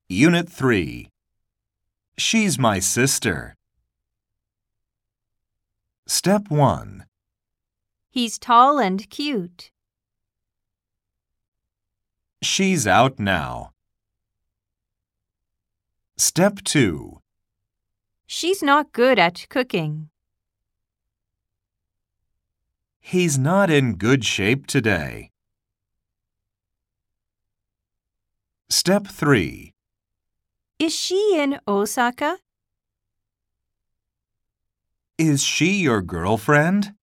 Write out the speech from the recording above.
Unit 3. She's my sister. Step 1. He's tall and cute. She's out now. Step 2. She's not good at cooking. He's not in good shape today. Step 3. Is she in Osaka? Is she your girlfriend?